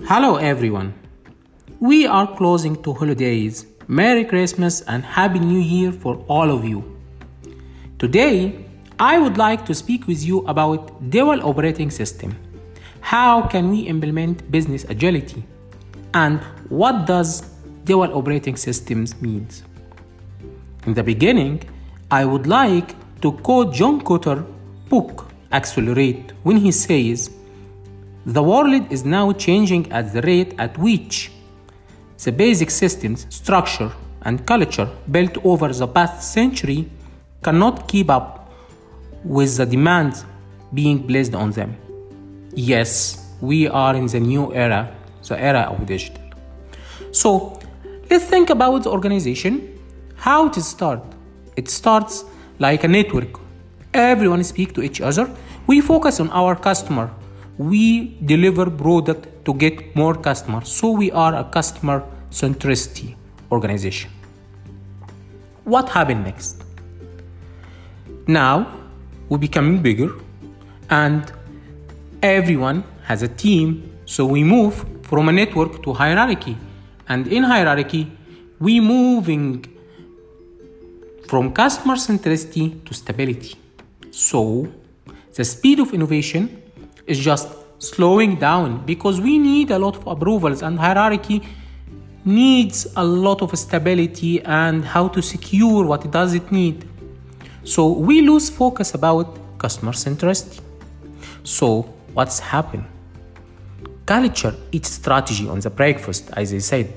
Hello everyone. We are closing to holidays. Merry Christmas and Happy New Year for all of you. Today, I would like to speak with you about dual operating system. How can we implement business agility? And what does dual operating systems means? In the beginning, I would like to quote John Kotter's book Accelerate when he says, "The world is now changing at the rate at which the basic systems, structure, and culture built over the past century cannot keep up with the demands being placed on them." Yes, we are in the new era, the era of digital. So, let's think about the organization. How it start? It starts like a network. Everyone speaks to each other. We focus on our customer. We deliver product to get more customers. So we are a customer centricity organization. What happened next? Now we becoming bigger and everyone has a team. So we move from a network to hierarchy. And in hierarchy, we moving from customer centricity to stability. So the speed of innovation is just slowing down because we need a lot of approvals and hierarchy needs a lot of stability and how to secure what does it need. So we lose focus about customer centricity. So what's happened? Culture eats strategy on the breakfast, as I said.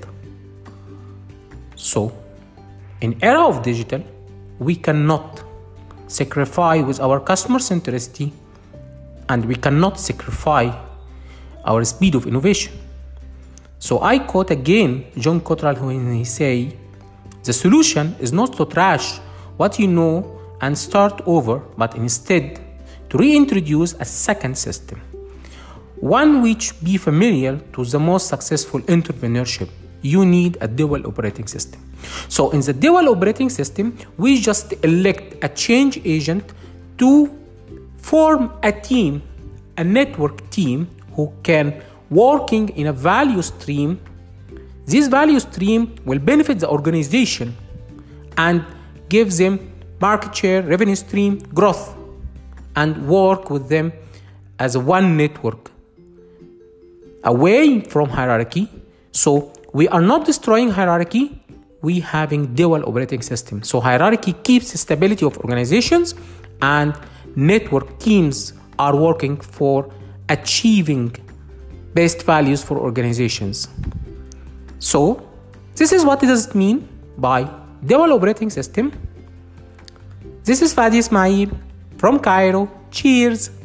So in era of digital, we cannot sacrifice with our customer centricity and we cannot sacrifice our speed of innovation. So I quote again John Cottrell when he say, "The solution is not to trash what you know and start over, but instead to reintroduce a second system, one which be familiar to the most successful entrepreneurship. You need a dual operating system." So in the dual operating system, we just elect a change agent to form a team, a network team who can working in a value stream. This value stream will benefit the organization and give them market share, revenue stream, growth, and work with them as one network away from hierarchy. So we are not destroying hierarchy, we having dual operating system. So hierarchy keeps the stability of organizations and network teams are working for achieving best values for organizations. So this is what does it mean by dual operating system. This is Fadi Ismail from Cairo. Cheers.